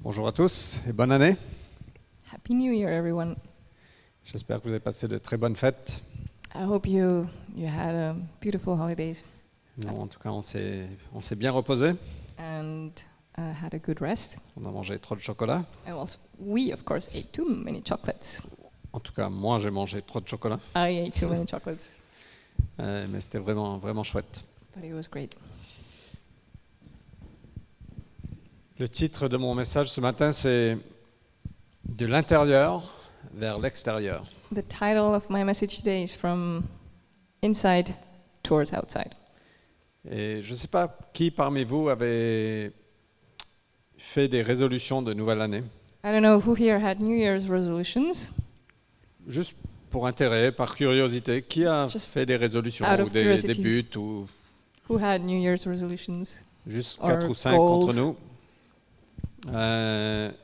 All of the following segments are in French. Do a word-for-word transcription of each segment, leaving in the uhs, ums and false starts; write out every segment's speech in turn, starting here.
Bonjour à tous et bonne année. Happy New Year, everyone. J'espère que vous avez passé de très bonnes fêtes. I hope you you had a beautiful holidays Nous, en tout cas, on s'est, on s'est bien reposé. and uh, had a good rest. On a mangé trop de chocolat. And also, we of course ate too many chocolates. En tout cas, moi, j'ai mangé trop de chocolat. I ate too many chocolates, Euh, mais c'était vraiment, vraiment chouette. but it was great. Le titre de mon message ce matin, c'est « De l'intérieur vers l'extérieur ». The title of my message today is From Inside Towards Outside. Et je ne sais pas qui parmi vous avait fait des résolutions de nouvelle année, I don't know who here had New Year's resolutions. juste pour intérêt, par curiosité. Qui a Just fait des résolutions out ou of des, curiosity. des buts ou Who had New Year's resolutions? juste Or quatre ou cinq goals. d'entre nous? Euh,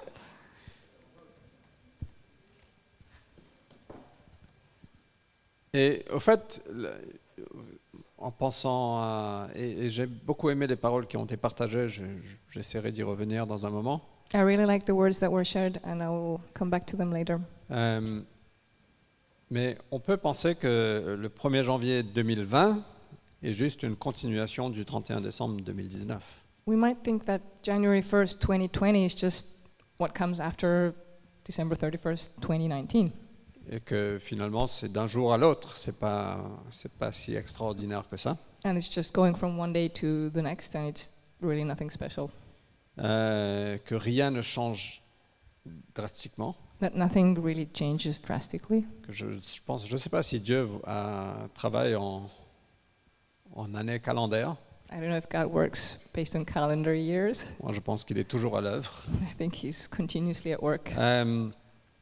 et au fait, le- en pensant à... Et, et j'ai beaucoup aimé les paroles qui ont été partagées, je- je- j'essaierai d'y revenir dans un moment. I really like the words that were shared, and I will come back to them later. Euh, mais on peut penser que le premier janvier deux mille vingt est juste une continuation du trente et un décembre deux mille dix-neuf. We might think that January first, twenty twenty is just what comes after December thirty-first, twenty nineteen. Et que finalement, c'est d'un jour à l'autre, c'est pas, c'est pas si extraordinaire que ça. And it's just going from one day to the next, and it's really nothing special. Euh, que rien ne change drastiquement. That nothing really changes drastically. Que je, je pense, je ne sais pas si Dieu a, travaille en, en année calendaire. I don't know if God works based on calendar years. Moi, je pense qu'il est toujours à l'œuvre. I think He's continuously at work. Euh,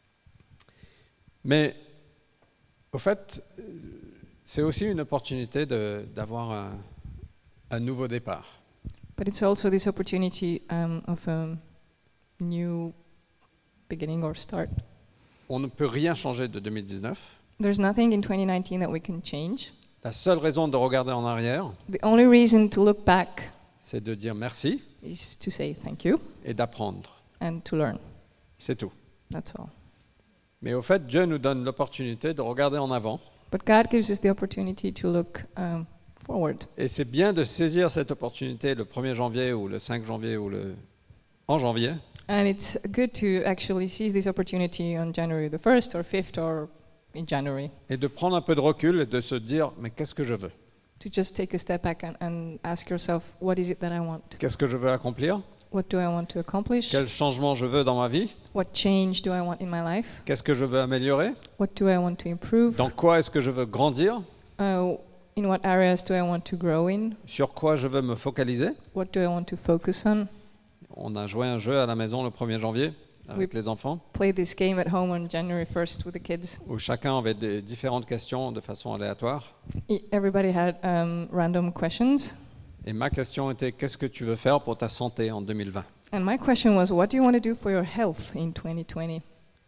mais au fait, euh, c'est aussi une opportunité de- d'avoir un, un nouveau départ. But it's also this opportunity um, of a new beginning or start. On ne peut rien changer de deux mille dix-neuf. There's nothing in twenty nineteen that we can change. La seule raison de regarder en arrière, The only reason to look back c'est de dire merci is to say thank you et d'apprendre. and to learn. C'est tout. That's all. Mais au fait, Dieu nous donne l'opportunité de regarder en avant. But God gives us the opportunity to look um, forward. Et c'est bien de saisir cette opportunité le premier janvier ou le cinq janvier ou le en janvier And it's good to actually seize this opportunity on January the first or fifth or in January et de prendre un peu de recul et de se dire mais qu'est-ce que je veux? to just take a step back and, and ask yourself, what is it that I want? Qu'est-ce que je veux accomplir? What do I want to accomplish? Quel changement je veux dans ma vie? What change do I want in my life? Qu'est-ce que je veux améliorer? What do I want to improve? Dans quoi est-ce que je veux grandir? Uh, in what areas do I want to grow in? Sur quoi je veux me focaliser? What do I want to focus on? On a joué un jeu à la maison le premier janvier avec Oui. les enfants Play this game at home on January first with the kids. où chacun avait des différentes questions de façon aléatoire. E- Everybody had um, random questions. Et ma question était qu'est-ce que tu veux faire pour ta santé en deux mille vingt? And my question was, what do you want to do for your health in twenty twenty?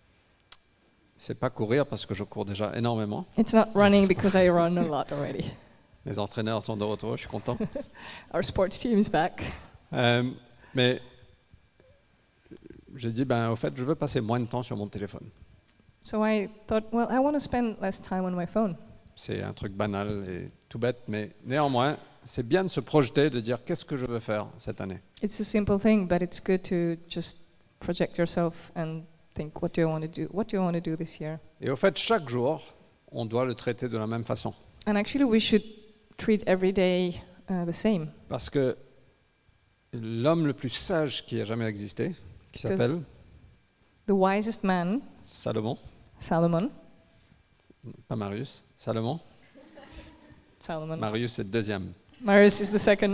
C'est pas courir parce que je cours déjà énormément. It's not running because I run a lot already. Les entraîneurs sont de retour, je suis content. Our sports team is back. Euh, mais j'ai dit, ben, au fait, je veux passer moins de temps sur mon téléphone. So I thought, well, I want to spend less time on my phone. C'est un truc banal et tout bête, mais néanmoins, c'est bien de se projeter, de dire qu'est-ce que je veux faire cette année. It's a simple thing, but it's good to just project yourself and think, what do I want to do? What do I want to do this year? Et au fait, chaque jour, on doit le traiter de la même façon. And actually, we should treat every day uh, the same. Parce que l'homme le plus sage qui a jamais existé, qui s'appelle The wisest man, Salomon, Solomon, pas Marius, Salomon, Solomon. Marius c'est le deuxième. Marius is the second.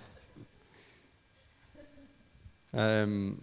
Euh,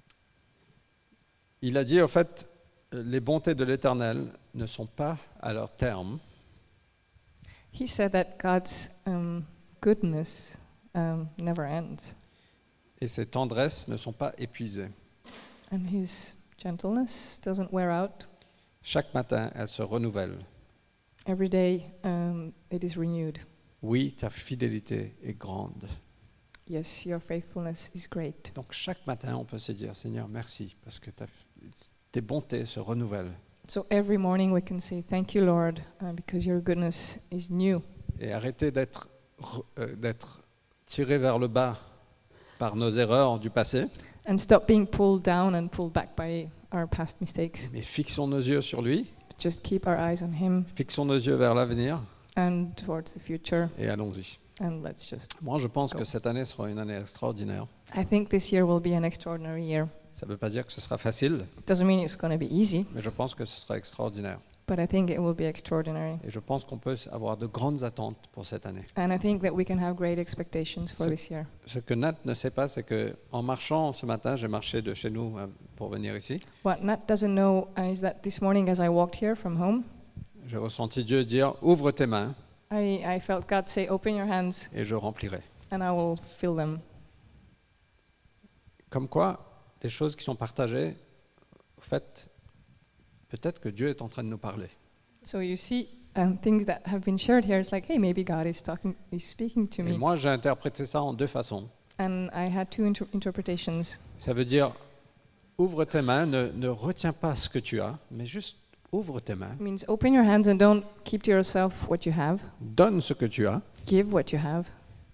il a dit, au fait, les bontés de l'Éternel ne sont pas à leur terme, He said that God's um, goodness um, never ends, et ses tendresses ne sont pas épuisées. and His gentleness doesn't wear out. Chaque matin, elles se renouvellent. Every day um, it is renewed. Oui, ta fidélité est grande. Yes, your faithfulness is great. Donc chaque matin, on peut se dire, Seigneur, merci, parce que ta- tes bontés se renouvellent. So every morning we can say, thank you, Lord, uh, because your goodness is new. Et arrêter d'être, re- euh, d'être tiré vers le bas par nos erreurs du passé, And stop being pulled down and pulled back by our past mistakes. mais fixons nos yeux sur lui, Just keep our eyes on Him fixons nos yeux vers l'avenir and towards the future, et allons-y. and let's just. Moi, je pense que cette année sera une année extraordinaire. I think this year will be an extraordinary year. Ça ne veut pas dire que ce sera facile, It doesn't mean it's going to be easy, mais je pense que ce sera extraordinaire. but I think it will be extraordinary. Et je pense qu'on peut avoir de grandes attentes pour cette année. And I think that we can have great expectations for So- this year. Ce que Nat ne sait pas, c'est que en marchant ce matin, j'ai marché de chez nous euh, pour venir ici. What Nat doesn't know uh, is that this morning, as I walked here from home, J'ai ressenti Dieu dire, ouvre tes mains I, I felt God say, open your hands et je remplirai. and I will fill them. Comme quoi, les choses qui sont partagées, en fait, peut-être que Dieu est en train de nous parler. So you see, um, things that have been shared here, it's like, hey, maybe God is talking, is speaking to Et me. moi, j'ai interprété ça en deux façons. And I had two inter- interpretations. Ça veut dire, ouvre tes mains, ne, ne retiens pas ce que tu as, mais juste ouvre tes mains, It means open your hands and don't keep to yourself what you have. donne ce que tu as, Give what you have.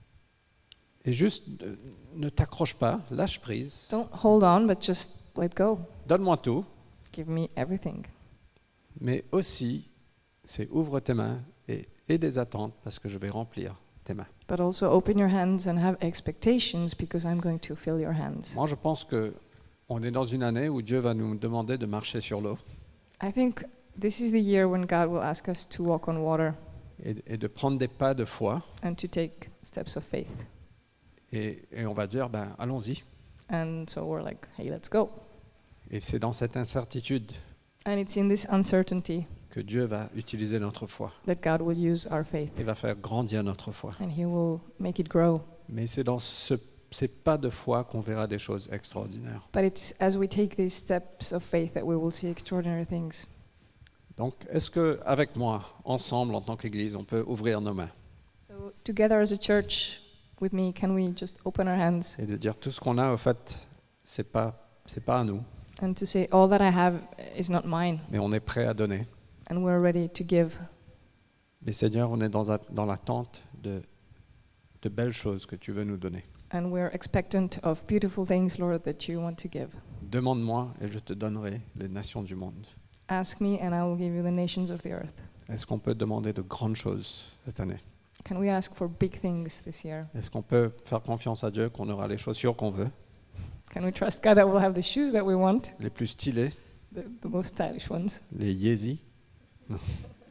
et juste euh, ne t'accroche pas, lâche prise, Don't hold on, but just let go. donne-moi tout, Give me everything. mais aussi, c'est ouvre tes mains et aie des attentes parce que je vais remplir tes mains. But also open your hands and have expectations because I'm going to fill your hands. Moi, je pense que on est dans une année où Dieu va nous demander de marcher sur l'eau I think this is the year when God will ask us to walk on water et, et de prendre des pas de foi. and to take steps of faith. Et, et on va dire, ben, allons-y. And so we're like, hey, let's go. Et c'est dans cette incertitude And it's in this uncertainty que Dieu va utiliser notre foi that God will use our faith et va faire grandir notre foi. and He will make it grow. Mais c'est dans ce, ces pas de foi qu'on verra des choses extraordinaires. But it's as we take these steps of faith that we will see extraordinary things. Donc, est-ce que avec moi, ensemble, en tant qu'Église, on peut ouvrir nos mains So together as a church with me, can we just open our hands et de dire tout ce qu'on a, au fait, c'est pas, c'est pas à nous, and to say, all that I have is not mine, mais on est prêt à donner. and we're ready to give. Mais Seigneur, on est dans, a- dans l'attente de, de belles choses que tu veux nous donner. And we're expectant of beautiful things, Lord, that you want to give. Demande-moi et je te donnerai les nations du monde. Ask me, and I will give you the nations of the earth. Est-ce qu'on peut demander de grandes choses cette année? Can we ask for big things this year? Est-ce qu'on peut faire confiance à Dieu qu'on aura les chaussures qu'on veut, Can we trust God that we'll have the shoes that we want, les plus stylées, the, the most stylish ones? les Yeezy? Non.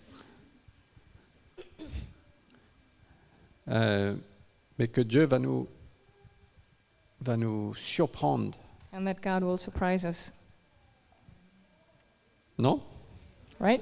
Euh, mais que Dieu va nous, va nous surprendre, And that God will surprise us, non? right?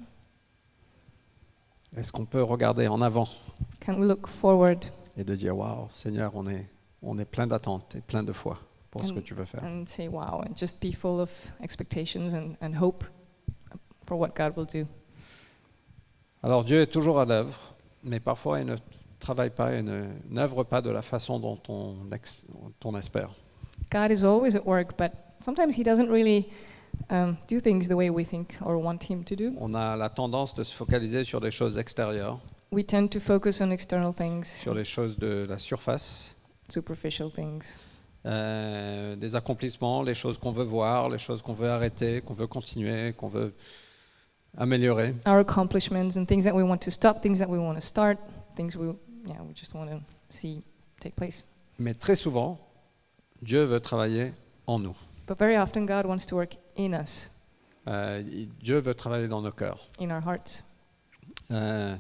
Est-ce qu'on peut regarder en avant Can we look forward et de dire waouh, Seigneur, on est, on est plein d'attentes et plein de foi pour ce And- que tu veux faire. and say, wow, and just be full of expectations and, and hope for what God will do? Alors Dieu est toujours à l'œuvre, mais parfois il ne travaille pas et ne n'œuvre pas de la façon dont on, ex- dont on espère. God is always at work, but sometimes He doesn't really um, do things the way we think or want Him to do. On a la tendance de se focaliser sur les choses extérieures, We tend to focus on external things, sur les choses de la surface, superficial things, euh, des accomplissements, les choses qu'on veut voir, les choses qu'on veut arrêter, qu'on veut continuer, qu'on veut améliorer. our accomplishments, and things that we want to stop, things that we want to start, things we, yeah, we just want to see take place. Mais très souvent, Dieu veut travailler en nous. But very often, God wants to work in us, Euh, il- Dieu veut travailler dans nos cœurs. in our hearts. Euh,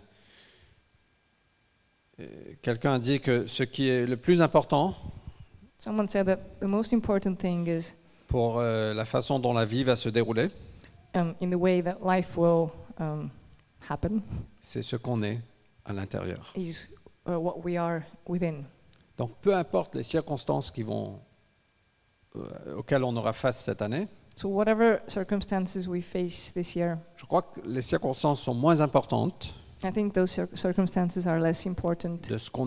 euh, Quelqu'un a dit que ce qui est le plus important Someone said that the most important thing is pour euh, la façon dont la vie va se dérouler, um, in the way that life will um, happen, c'est ce qu'on est à l'intérieur. is uh, what we are within. Donc peu importe les circonstances qui vont, euh, auxquelles on aura face cette année, So whatever circumstances we face this year, je crois que les circonstances sont moins importantes I think those cir- circumstances are less important de ce qu'on est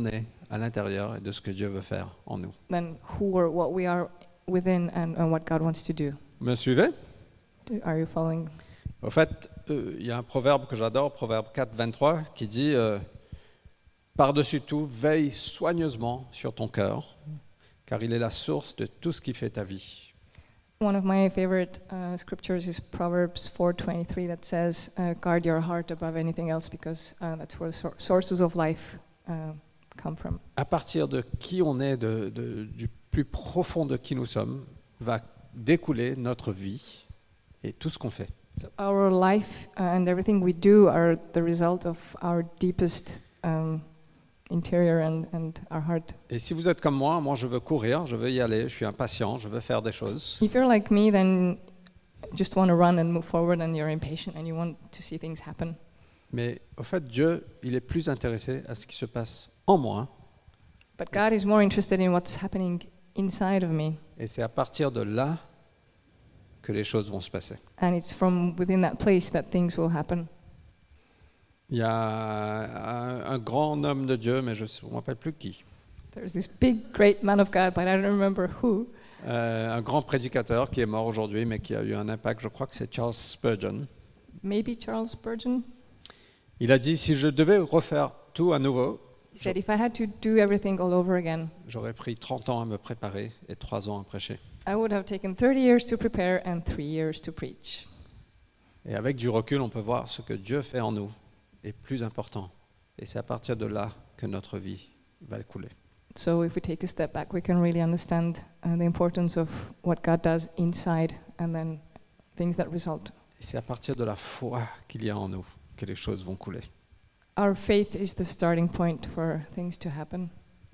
à l'intérieur et de ce que Dieu veut faire en nous. than who or what we are within and, and what God wants to do. Me suivez? Do- Are you following? Au fait, euh, il y a un proverbe que j'adore, Proverbe quatre, vingt-trois, qui dit euh, « Par-dessus tout, veille soigneusement sur ton cœur, car il est la source de tout ce qui fait ta vie. One of my favorite uh, scriptures is Proverbs four twenty-three that says, uh, "Guard your heart above anything else, because uh, that's where sor- sources of life uh, come from." » À partir de qui on est, de, de- du plus profond de qui nous sommes, va découler notre vie et tout ce qu'on fait. So our life uh, and everything we do are the result of our deepest um, interior and, and our heart. Et si vous êtes comme moi, moi je veux courir, je veux y aller, je suis impatient, je veux faire des choses. If you're like me, then you just want to run and move forward, and you're impatient and you want to see things happen. Mais au fait, Dieu, il est plus intéressé à ce qui se passe en moi. But God is more interested in what's happening inside of me. Et c'est à partir de là que les choses vont se passer. And it's from within that place that things will happen. Il y a un, un grand homme de Dieu, mais je ne me rappelle plus qui, There's this big, great man of God, but I don't remember who. euh, un grand prédicateur qui est mort aujourd'hui, mais qui a eu un impact, je crois que c'est Charles Spurgeon. Maybe Charles Spurgeon. Il a dit, si je devais refaire tout à nouveau, He said, if I had to do everything all over again, j'aurais pris trente ans à me préparer et trois ans à prêcher. I would have taken thirty years to prepare and three years to preach. Et avec du recul, on peut voir ce que Dieu fait en nous est plus important. Et c'est à partir de là que notre vie va couler. So if we take a step back, we can really understand uh, the importance of what God does inside and then things that result. Et c'est à partir de la foi qu'il y a en nous que les choses vont couler. Our faith is the starting point for things to happen.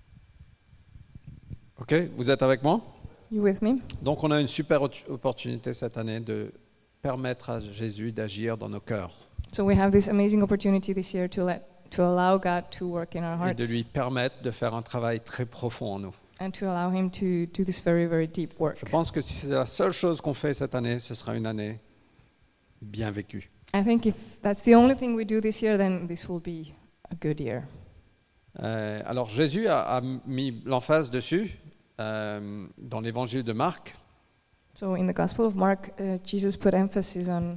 Ok, vous êtes avec moi? You with me? Donc on a une super ot- opportunité cette année de permettre à Jésus d'agir dans nos cœurs So we have this amazing opportunity this year to let to allow God to work in our et hearts de lui permettre de faire un travail très profond en nous. and to allow Him to do this very, very deep work. Je pense que si c'est la seule chose qu'on fait cette année, ce sera une année bien vécue. I think if that's the only thing we do this year, then this will be a good year. Euh, alors Jésus a, a mis l'emphase dessus euh, dans l'évangile de Marc. So in the Gospel of Mark, uh, Jesus put emphasis on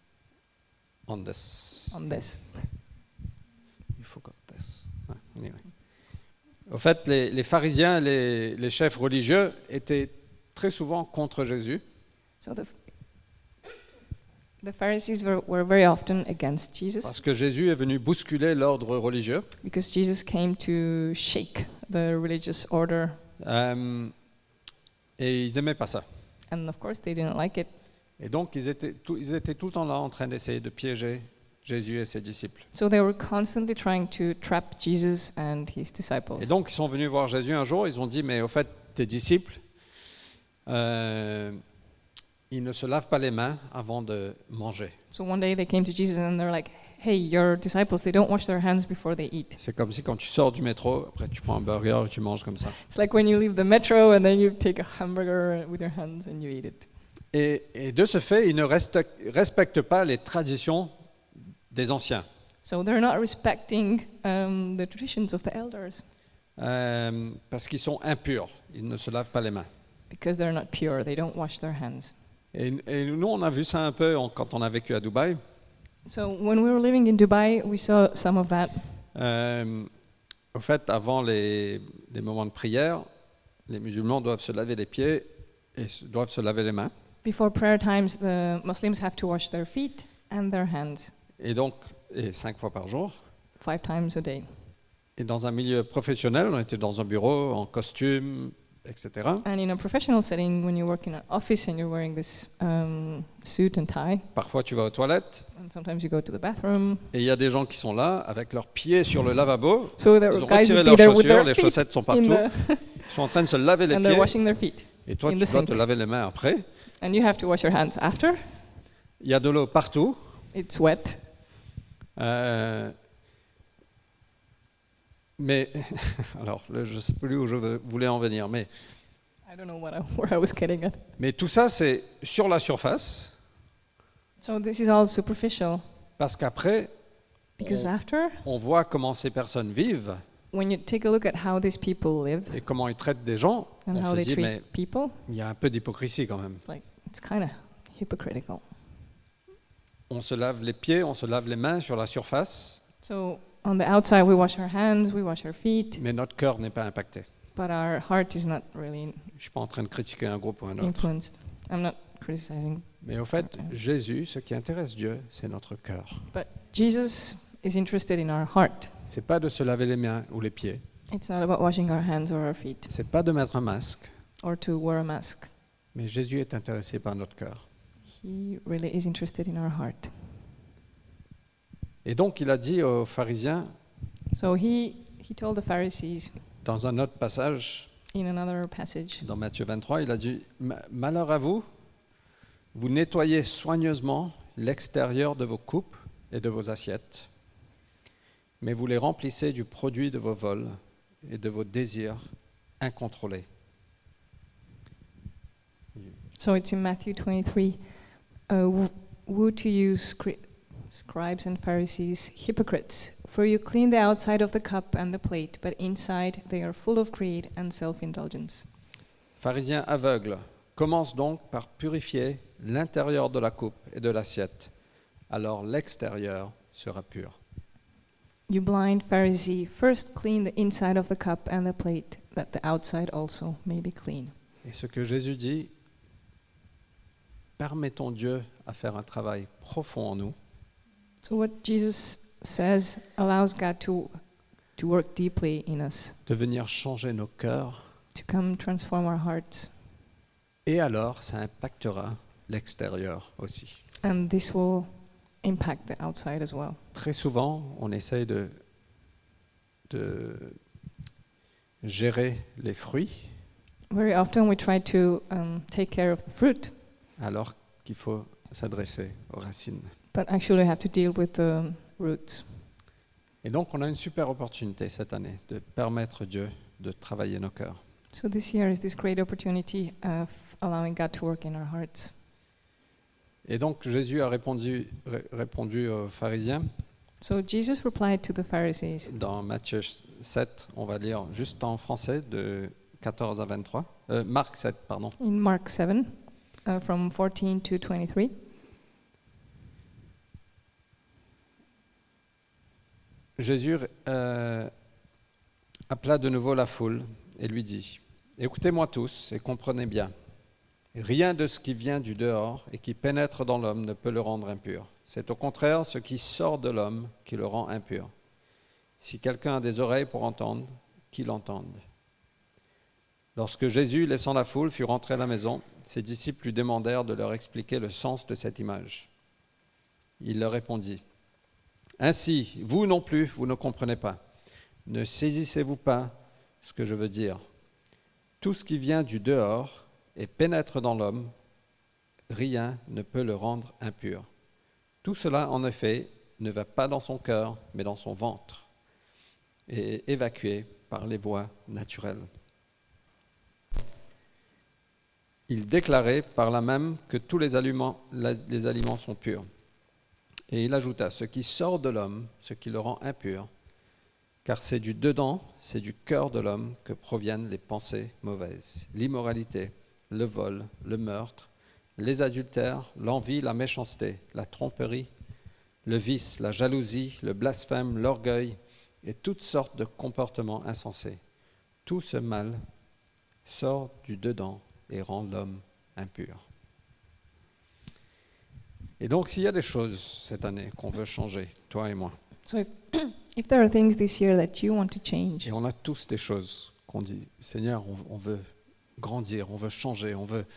On this. on this. You forgot this. Ah, anyway. Au fait, les, les pharisiens, les, les chefs religieux étaient très souvent contre Jésus So the the Pharisees were, were very often against parce Jesus que Jésus est venu bousculer l'ordre religieux. because Jesus came to shake the religious order, Euh, et ils n'aimaient pas ça. and of course they didn't like it. Et donc, ils étaient, tout, ils étaient tout le temps là en train d'essayer de piéger Jésus et ses disciples. So they were constantly trying to trap Jesus and his disciples. Et donc, ils sont venus voir Jésus un jour, ils ont dit, mais au fait, tes disciples, euh, ils ne se lavent pas les mains avant de manger. So one day they came to Jesus and they're like, "Hey, your disciples, they don't wash their hands before they eat." C'est comme si quand tu sors du métro, après tu prends un burger et tu manges comme ça. It's like when you leave the metro and then you take a hamburger with your hands and you eat it. Et, et de ce fait, ils ne respectent, respectent pas les traditions des anciens. So they're not respecting um, the traditions of the elders Euh, parce qu'ils sont impurs, ils ne se lavent pas les mains. because they're not pure. They don't wash their hands. Et, et nous, on a vu ça un peu en- quand on a vécu à Dubaï. So when we were living in Dubai, we saw some of that. Euh, au fait, avant les, les moments de prière, les musulmans doivent se laver les pieds et se- doivent se laver les mains. Before prayer times, the Muslims have to wash their feet and their hands Et donc, et cinq fois par jour. five times a day. Et dans un milieu professionnel, on était dans un bureau en costume, et cetera. And in a professional setting, when you work in an office and you're wearing this um, suit and tie, Parfois, tu vas aux toilettes and sometimes you go to the bathroom. et il y a des gens qui sont là avec leurs pieds sur le lavabo. So there Ils were ont guys retiré would be leurs there with chaussures, their les feet chaussettes sont in partout. the, Ils sont en train de se laver les and they're pieds. washing their feet. Et toi, in tu the dois sink. te laver les mains après. And you have to wash your hands after. Il y a de l'eau partout. It's wet. Euh, mais, alors, là, je ne sais plus où je veux- voulais en venir, mais, I don't know what I, where I was getting at. mais tout ça, c'est sur la surface, So this is all superficial parce qu'après, because on, after on voit comment ces personnes vivent, when you take a look at how these people live et comment ils traitent des gens, and on how se they dit, treat mais people, il y a un peu d'hypocrisie quand même. like it's kind of hypocritical. On se lave les pieds, on se lave les mains sur la surface, So on the outside we wash our hands, we wash our feet, mais notre cœur n'est pas impacté. but our heart is not really Je ne suis pas en train de critiquer un groupe ou un autre. influenced. I'm not criticizing, Mais au fait, Jésus, ce qui intéresse Dieu, c'est notre cœur. but Jesus is interested in our heart. C'est pas de se laver les mains ou les pieds. It's not about washing our hands or our feet C'est pas de mettre un masque. or to wear a mask. Mais Jésus est intéressé par notre cœur. He really is interested in our heart. Et donc, il a dit aux pharisiens, So he, he told the Pharisees dans un autre passage, in another passage, dans Matthieu vingt-trois, il a dit, Ma- malheur à vous, vous nettoyez soigneusement l'extérieur de vos coupes et de vos assiettes, mais vous les remplissez du produit de vos vols et de vos désirs incontrôlés. so it's in Matthew twenty-three. Uh, wo- woe to you, scri- scribes and Pharisees, hypocrites! For you clean the outside of the cup and the plate, but inside they are full of greed and self-indulgence. Pharisiens aveugles, commence donc par purifier l'intérieur de la coupe et de l'assiette, alors l'extérieur sera pur. You blind Pharisee, first clean the inside of the cup and the plate, that the outside also may be clean. Et ce que Jésus dit, permettons Dieu à faire un travail profond en nous, So what Jesus says allows God to to work deeply in us, de venir changer nos cœurs, to come transform our hearts, et alors ça impactera l'extérieur aussi. and this will impact the outside as well. Très souvent, on essaye de, de gérer les fruits, Very often we try to um, take care of the fruit, alors qu'il faut s'adresser aux racines. but actually have to deal with the roots. Et donc, on a une super opportunité cette année de permettre Dieu de travailler nos cœurs. So this year is this great opportunity of allowing God to work in our hearts. Et donc, Jésus a répondu, ré- répondu aux pharisiens. So Jesus replied to the Pharisees. Dans Matthieu sept, on va lire juste en français de quatorze à vingt-trois. Euh, Marc sept, pardon. In Mark seven, uh, from fourteen to twenty-three. Jésus euh, appela de nouveau la foule et lui dit, « Écoutez-moi tous et comprenez bien. Rien de ce qui vient du dehors et qui pénètre dans l'homme ne peut le rendre impur. C'est au contraire ce qui sort de l'homme qui le rend impur. Si quelqu'un a des oreilles pour entendre, qu'il entende. » Lorsque Jésus, laissant la foule, fut rentré à la maison, ses disciples lui demandèrent de leur expliquer le sens de cette image. Il leur répondit, « Ainsi, vous non plus, vous ne comprenez pas. Ne saisissez-vous pas ce que je veux dire. Tout ce qui vient du dehors et pénètre dans l'homme, rien ne peut le rendre impur. Tout cela, en effet, ne va pas dans son cœur, mais dans son ventre, et est évacué par les voies naturelles. » Il déclarait par là même que tous les aliments, les aliments sont purs. Et il ajouta, ce qui sort de l'homme, ce qui le rend impur, car c'est du dedans, c'est du cœur de l'homme que proviennent les pensées mauvaises, l'immoralité, le vol, le meurtre, les adultères, l'envie, la méchanceté, la tromperie, le vice, la jalousie, le blasphème, l'orgueil et toutes sortes de comportements insensés. Tout ce mal sort du dedans et rend l'homme impur. Et donc, s'il y a des choses cette année qu'on veut changer, toi et moi, So if, if there are things this year that you want to change, et on a tous des choses qu'on dit, Seigneur, on, on veut grandir, on veut changer, on veut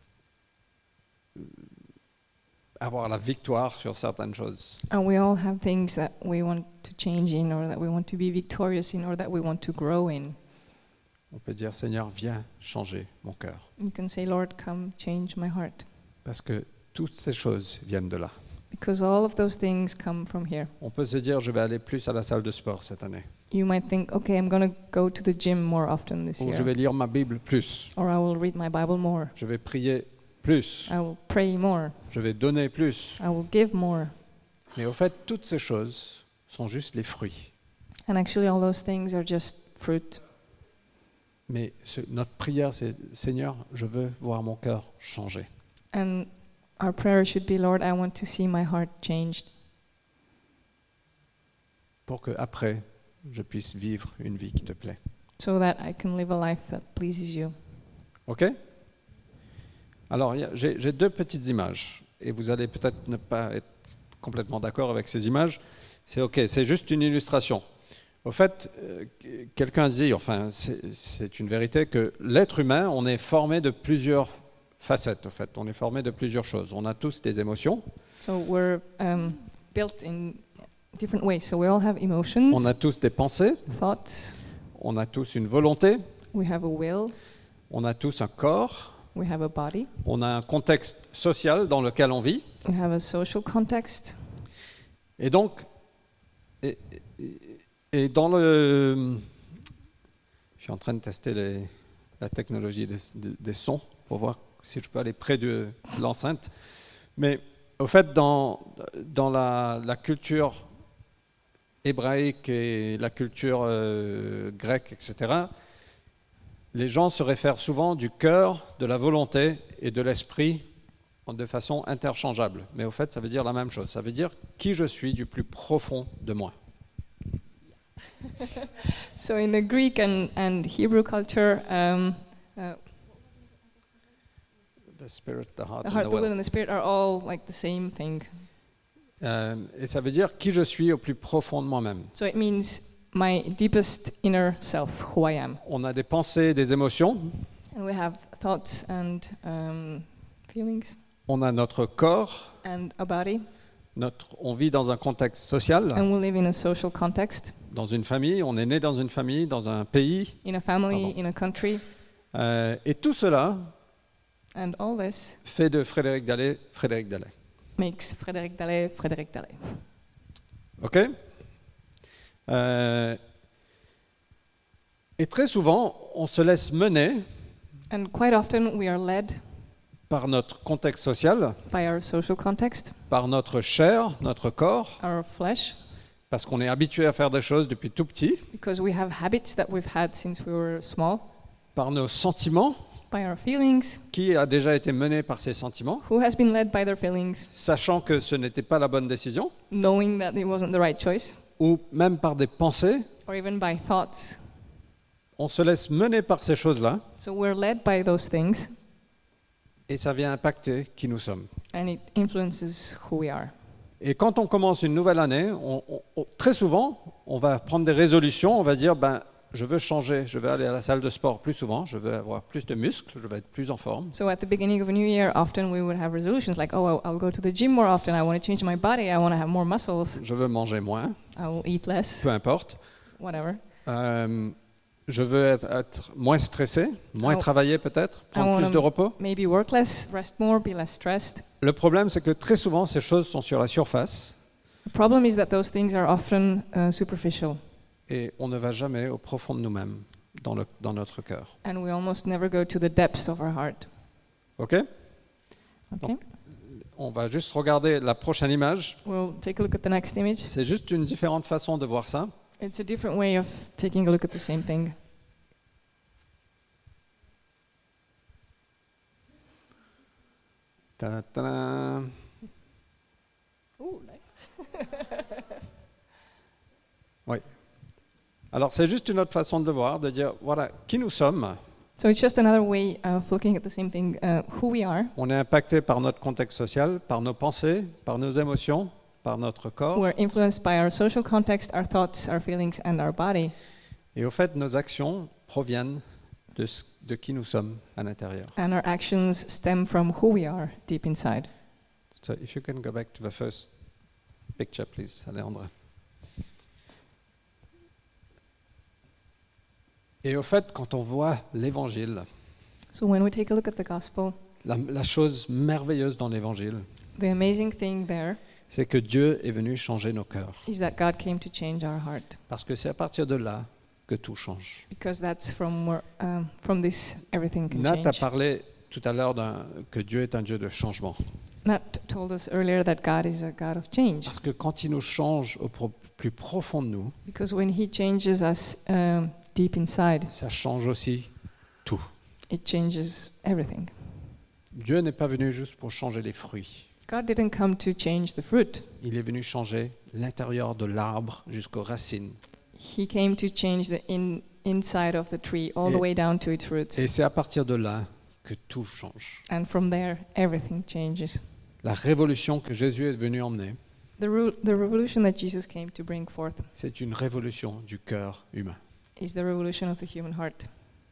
avoir la victoire sur certaines choses. and we all have things that we want to change in, or that we want to be victorious in, or that we want to grow in, On peut dire, Seigneur, viens changer mon cœur. you can say, Lord, come change my heart. Parce que toutes ces choses viennent de là. Because all of those things come from here. On peut se dire, je vais aller plus à la salle de sport cette année. You might think, okay, I'm going to go to the gym more often this Ou year. je vais lire ma Bible plus. Or I will read my Bible more. Je vais prier plus. I will pray more. Je vais donner plus. I will give more. Mais au fait, toutes ces choses sont juste les fruits. And actually, all those things are just fruit. Mais ce- notre prière, c'est Seigneur, je veux voir mon cœur changer. And our prayer should be, Lord, I want to see my heart changed, Pour que après, je puisse vivre une vie qui te plaît. so that I can live a life that pleases you. OK? Alors, il y a- j'ai j'ai deux petites images. Et vous allez peut-être ne pas être complètement d'accord avec ces images. C'est OK, c'est juste une illustration. Au fait, euh, quelqu'un dit, enfin, c'est c'est une vérité, que l'être humain, on est formé de plusieurs facettes. Au fait, on est formé de plusieurs choses. On a tous des émotions, So we're um, built in different ways. So we all have emotions, on a tous des pensées, thoughts, on a tous une volonté, we have a will, on a tous un corps, we have a body, on a un contexte social dans lequel on vit. we have a social context. Et donc, et, et- et dans le... Je suis en train de tester les- la technologie des, des- des sons pour voir si je peux aller près de, de l'enceinte. Mais au fait, dans, dans la, la culture hébraïque et la culture euh, grecque, et cetera, les gens se réfèrent souvent du cœur, de la volonté et de l'esprit de façon interchangeable. Mais au fait, ça veut dire la même chose. Ça veut dire qui je suis du plus profond de moi. So in the Greek and, and Hebrew culture, um, uh, The spirit, the heart, the and heart, the the will, will. and the spirit are all like the same thing. Euh, et ça veut dire qui je suis au plus profond de moi-même. So it means my deepest inner self, who I am. On a des pensées, des émotions. And we have thoughts and um, feelings On a notre corps. and a body. Notre, on vit dans un contexte social, And we live in a social context, dans une famille. On est né dans une famille, dans un pays. in a family, Pardon. in a country. Euh, et tout cela And all this fait de Frédéric Dallet Frédéric Dallet. makes Frédéric Dallet Frédéric Dallet. OK? Euh, et très souvent, on se laisse mener And quite often we are led par notre contexte social, by our social context, par notre chair, notre corps, our flesh, parce qu'on est habitué à faire des choses depuis tout petit, because we have habits that we've had since we were small, par nos sentiments. by our feelings. Qui a déjà été mené par ses sentiments, Who has been led by their feelings, sachant que ce n'était pas la bonne décision, knowing that it wasn't the right choice, ou même par des pensées. or even by thoughts? On se laisse mener par ces choses-là, So we're led by those things, et ça vient impacter qui nous sommes. and it influences who we are. Et quand on commence une nouvelle année, on- on- on- très souvent, on va prendre des résolutions, on va dire, ben, je veux changer, je veux aller à la salle de sport plus souvent, je veux avoir plus de muscles, je veux être plus en forme. So at the beginning of a new year, often we would have resolutions like, oh, I'll, I'll go to the gym more often, I want to change my body, I want to have more muscles, Je veux manger moins, I will eat less, peu importe. whatever. Euh, je veux être, être moins stressé, moins Oh. travailler peut-être, I prendre plus wanna de repos. maybe work less, rest more, be less stressed. Le problème, c'est que très souvent, ces choses sont sur la surface The problem is that those things are often uh, superficial, et on ne va jamais au profond de nous-mêmes, dans, le- dans notre cœur. and we almost never go to the depths of our heart. OK? Okay? On va juste regarder la prochaine image. We'll take a look at the next image. C'est juste une différente façon de voir ça. It's a different way of taking a look at the same thing. Ta-ta-da. Ooh, nice. Oui. Alors, c'est juste une autre façon de le voir, de dire, voilà, qui nous sommes. So it's just another way of looking at the same thing, uh, who we are. On est impacté par notre contexte social, par nos pensées, par nos émotions, par notre corps. We're influenced by our social context, our thoughts, our feelings, and our body. Et au fait, nos actions proviennent de, ce- de qui nous sommes à l'intérieur. And our actions stem from who we are deep inside. So if you can go back to the first picture, please, Alejandra. Et au fait, quand on voit l'évangile, So when we take a look at the gospel, la, la chose merveilleuse dans l'évangile, the amazing thing there c'est que Dieu est venu changer nos cœurs. is that God came to change our heart. Parce que c'est à partir de là que tout change. Because that's from where, um, from this everything can Nat a change. parlé tout à l'heure d'un- que Dieu est un Dieu de changement. Nat told us earlier that God is a God of change. Parce que quand il nous change au pro- plus profond de nous, Because when He changes us um, deep inside, ça change aussi tout. it changes everything. Dieu n'est pas venu juste pour changer les fruits. God didn't come to change the fruit. Il est venu changer l'intérieur de l'arbre jusqu'aux racines. He came to change the in, inside of the tree all the Et- way down to its roots. Et c'est à partir de là que tout change. And from there, everything changes. La révolution que Jésus est venu emmener, The, ru- the revolution that Jesus came to bring forth c'est une révolution du cœur humain. is the revolution of the human heart.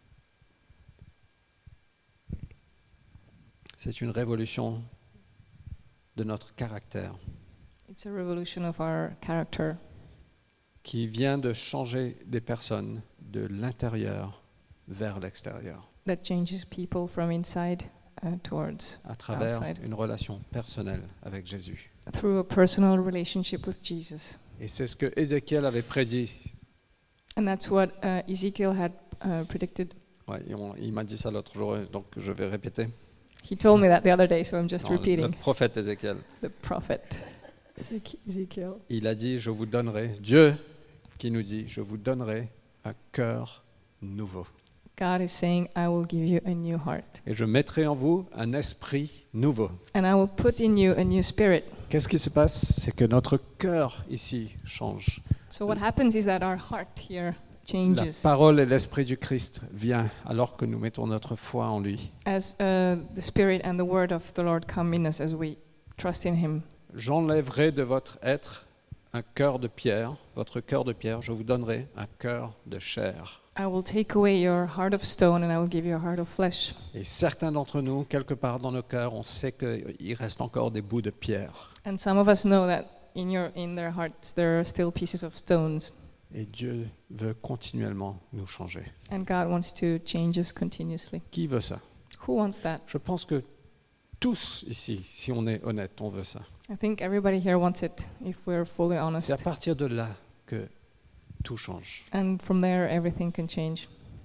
C'est une révolution de notre caractère It's a revolution of our character qui vient de changer des personnes de l'intérieur vers l'extérieur that changes people from inside uh, towards à travers outside. une relation personnelle avec Jésus. Through a personal relationship with Jesus. Et c'est ce que Ézéchiel avait prédit. And that's what uh, Ezekiel had uh, predicted. Ouais, et on- il m'a dit ça l'autre jour, donc je vais répéter. He told me that the other day, so I'm just Non, le, le repeating. prophète Ézéchiel. The prophet Ezek- Ezekiel. Il a dit, je vous donnerai, Dieu qui nous dit, je vous donnerai un cœur nouveau. God is saying, I will give you a new heart. Et je mettrai en vous un esprit nouveau. And I will put in you a new spirit. Qu'est-ce qui se passe? C'est que notre cœur ici change. So what happens is that our heart here La changes parole et l'esprit du Christ vient alors que nous mettons notre foi en lui. as uh, the spirit and the word of the Lord come in us as we trust in Him. J'enlèverai de votre être un cœur de pierre, votre cœur de pierre, je vous donnerai un cœur de chair. I will take away your heart of stone and I will give you a heart of flesh. Et certains d'entre nous, quelque part dans nos cœurs, on sait qu'il reste encore des bouts de pierre. And some of us know that in your in their hearts there are still pieces of stones. Et Dieu veut continuellement nous changer. And God wants to change us continuously. Qui veut ça? Who wants that? Je pense que tous ici, si on est honnête, on veut ça. I think everybody here wants it if we're fully C'est à honest. partir de là que tout change. And from there everything can change.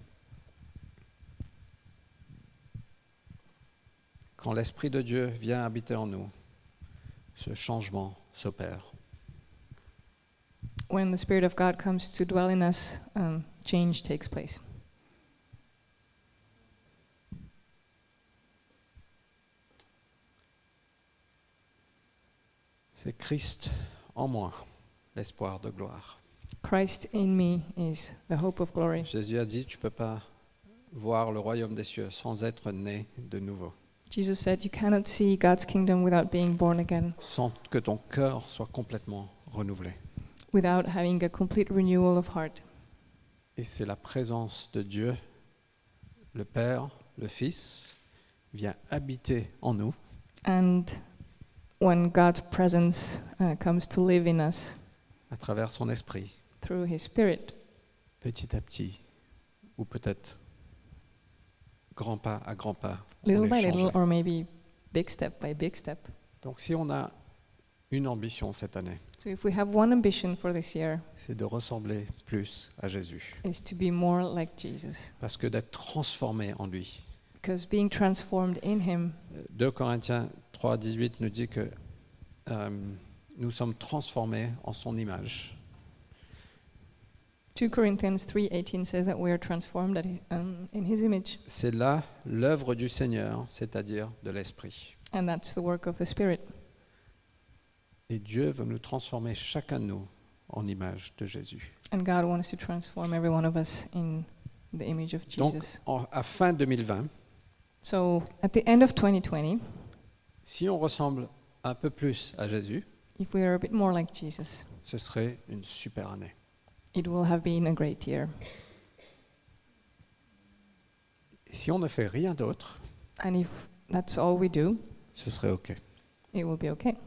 Quand l'Esprit de Dieu vient habiter en nous, ce changement s'opère. When the Spirit of God comes to dwell in us, um, change takes place. C'est Christ en moi, l'espoir de gloire. Christ in me is the hope of glory. Jésus a dit, tu ne peux pas voir le royaume des cieux sans être né de nouveau, Jesus said, you cannot see God's kingdom without being born again, sans que ton cœur soit complètement renouvelé. without having a complete renewal of heart. Et c'est la présence de Dieu, le Père, le Fils, vient habiter en nous. And when God's presence uh, comes to live in us à travers son esprit, through His Spirit, petit à petit, ou peut-être grand pas à grand pas, on little est by little, changé. or maybe big step by big step. Donc si on a une ambition cette année, So if we have one ambition for this year, c'est de ressembler plus à Jésus. is to be more like Jesus. Parce que d'être transformé en lui. Because being transformed in Him, deux Corinthiens trois, dix-huit nous dit que euh, nous sommes transformés en son image. two Corinthians three eighteen says that we are transformed at his, um, in His image. C'est là l'œuvre du Seigneur, c'est-à-dire de l'Esprit. And that's the work of the Spirit. Et Dieu veut nous transformer chacun de nous en image de Jésus. And God wants to transform every one of us in the image of Donc, Jesus. en- à fin deux mille vingt, So at the end of twenty twenty, si on ressemble un peu plus à Jésus, if we are a bit more like Jesus, ce serait une super année. it will have been a great year. Et si on ne fait rien d'autre, And if that's all we do, ce serait OK. it will be okay.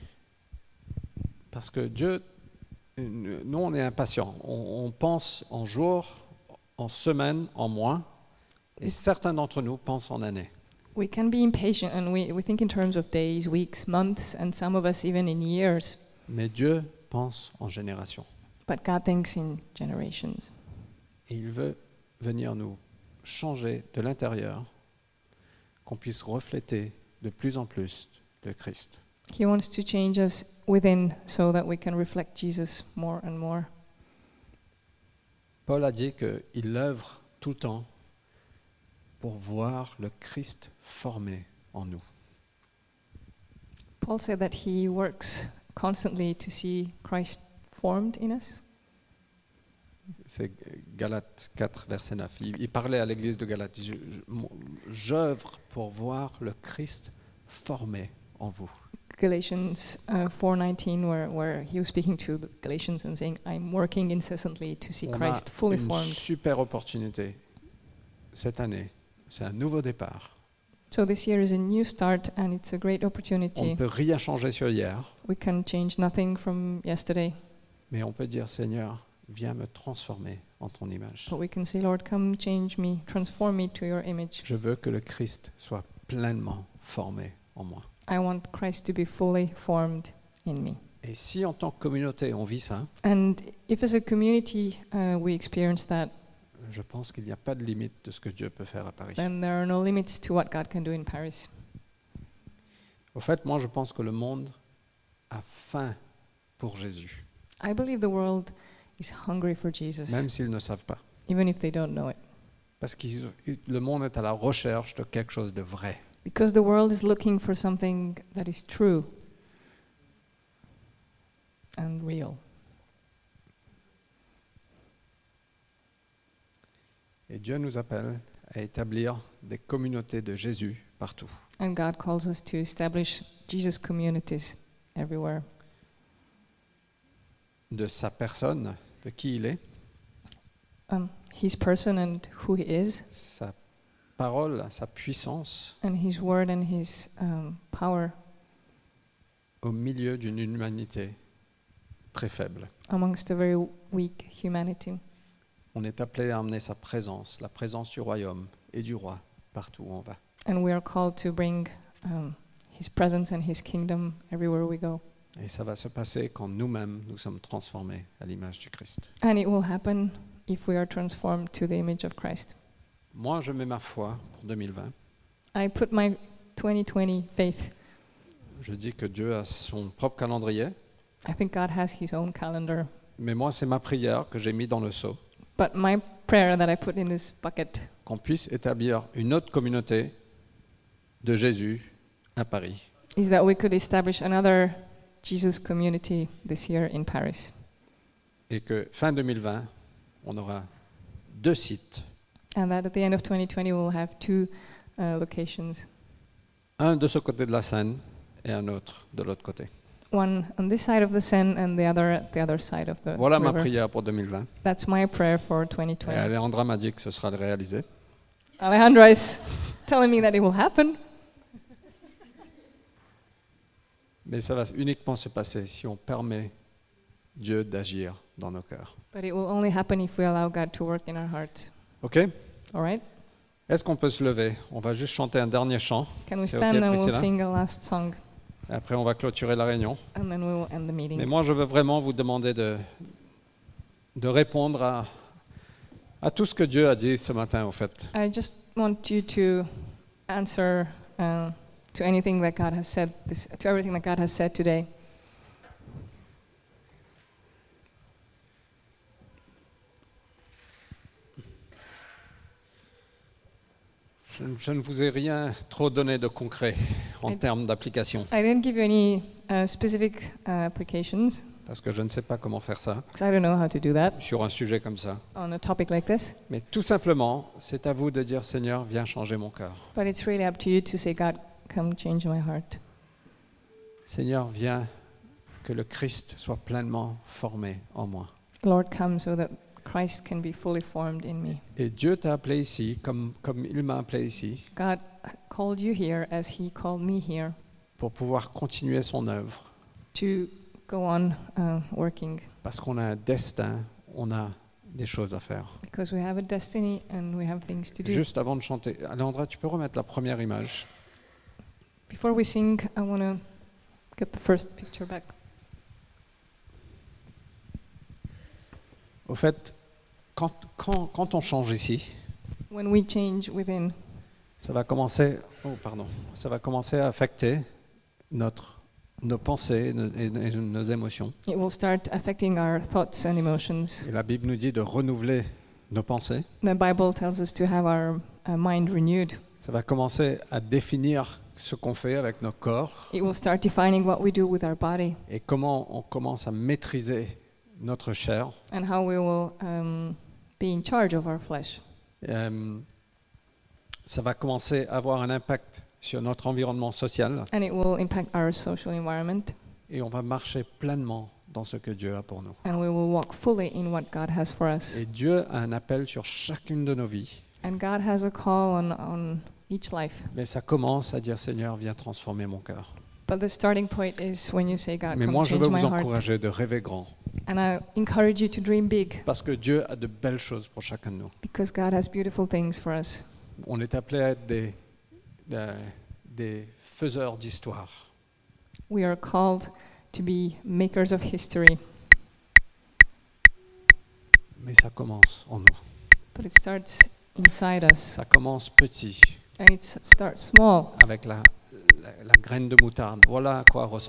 Parce que Dieu, nous, on est impatients. On, on pense en jours, en semaines, en mois, et certains d'entre nous pensent en années. We can be impatient and we, we think in terms of days, weeks, months, and some of us even in years. Mais Dieu pense en générations. But God thinks in generations. Et il veut venir nous changer de l'intérieur, qu'on puisse refléter de plus en plus le Christ. He wants to change us within so that we can reflect Jesus more and more. Paul a dit qu'il œuvre tout le temps pour voir le Christ formé en nous. Paul said that he works constantly to see Christ formed in us. C'est Galates quatre, verset neuf. Il, il parlait à l'église de Galates. Il dit, je- je- j'œuvre pour voir le Christ formé en vous. Galatians uh, four nineteen, where, where he was speaking to the Galatians and saying, I'm working incessantly to see On a Christ fully une formed. super opportunité cette année. C'est un nouveau départ. So this year is a new start and it's a great On opportunity. ne peut rien changer sur hier, We can change nothing from yesterday, mais on peut dire, Seigneur, viens me transformer en ton image. but we can say, Lord, come change me, transform me to your image. Je veux que le Christ soit pleinement formé en moi. I want Christ to be fully formed in me. Et si en tant que communauté on vit ça, And if as a community uh, we experience that, je pense qu'il n'y a pas de limite de ce que Dieu peut faire à Paris. then there are no limits to what God can do in Paris. Au fait, moi je pense que le monde a faim pour Jésus, I believe the world is hungry for Jesus, même s'ils ne savent pas. even if they don't know it. Parce que le monde est à la recherche de quelque chose de vrai. Because the world is looking for something that is true and real. Et Dieu nous appelle à établir des communautés de Jésus partout. And God calls us to establish Jesus communities everywhere. De sa personne, de qui il est, Um, his person and who he is, sa parole, sa puissance, and his word and his um, power au milieu d'une humanité très faible. amongst a very weak humanity. On est appelé à emmener sa présence, la présence du royaume et du roi partout où on va. And we are called to bring um, his presence and his kingdom everywhere we go. Et ça va se passer quand nous-mêmes nous sommes transformés à l'image du Christ. And it will happen if we are transformed to the image of Christ. Moi, je mets ma foi pour deux mille vingt. I put my twenty twenty faith. Je dis que Dieu a son propre calendrier, I think God has his own calendar. mais moi, c'est ma prière que j'ai mis dans le seau, But my prayer that I put in this bucket qu'on puisse établir une autre communauté de Jésus à Paris. is that we could establish another Jesus community this year in Paris. Et que fin deux mille vingt, on aura deux sites, And that at the end of twenty twenty we'll have two uh, locations. un de ce côté de la Seine et un autre de l'autre côté. One on this side of the Seine and the other at the other side of the Voilà ma river. prière pour deux mille vingt. That's my prayer for twenty Et twenty. Alejandra m'a dit que ce sera réalisé. Alejandro is telling me that it will happen, Mais ça va uniquement se passer si on permet Dieu d'agir dans nos cœurs. but it will only happen if we allow God to work in our hearts. OK? All right? Est-ce qu'on peut se lever? On va juste chanter un dernier chant. Can we C'est stand OK, and we'll Priscilla? sing a last song Et après, on va clôturer la réunion. and then we will end the Mais meeting. moi, je veux vraiment vous demander de, de répondre à, à tout ce que Dieu a dit ce matin, au fait. I just want you to answer uh, to anything that God has said, this, to everything that God has said today. Je, je ne vous ai rien trop donné de concret en Et- termes d'application, I didn't give you any uh, specific uh, applications parce que je ne sais pas comment faire ça because I don't know how to do that sur un sujet comme ça. on a topic like this. Mais tout simplement, c'est à vous de dire, Seigneur, viens changer mon cœur. But it's really up to you to say, God, come change my heart. Seigneur, viens que le Christ soit pleinement formé en moi. Lord, come so that Christ can be fully formed in me. Et Dieu t'a appelé ici, comme, comme il m'a appelé ici, God called you here as he called me here pour pouvoir continuer son œuvre. to go on uh, working Parce qu'on a un destin, on a des choses à faire. because we have a destiny and we have things to do. Juste avant de chanter, Alejandra, tu peux remettre la première image? Before we sing, I want to get the first picture back. Au fait, quand, quand, quand on change ici, When we change within, ça va commencer, oh, pardon, ça va commencer à affecter notre nos pensées nos- et, et nos émotions. It will start affecting our thoughts and emotions. Et la Bible nous dit de renouveler nos pensées. The Bible tells us to have our uh, mind renewed. Ça va commencer à définir ce qu'on fait avec nos corps It will start defining what we do with our body et comment on commence à maîtriser notre chair. and how we will um, be in charge of our flesh. Euh, ça va commencer à avoir un impact sur notre environnement social And it will impact our social environment, et on va marcher pleinement dans ce que Dieu a pour nous. and we will walk fully in what God has for us. Et Dieu a un appel sur chacune de nos vies. And God has a call on, on each life. Mais ça commence à dire Seigneur, viens transformer mon cœur. But the starting point is when you say, God, Mais come moi, je change veux my vous heart. encourager de rêver grand. And I encourage you to dream big, Parce que Dieu a de belles choses pour chacun de nous. because God has beautiful things for us. On est appelé à être des, euh, des faiseurs d'histoire. We are called to be makers of history, Mais ça commence en nous. but it starts inside us. Ça commence petit, And it s- starts small. avec la, la, la graine de moutarde. Voilà à quoi ressemble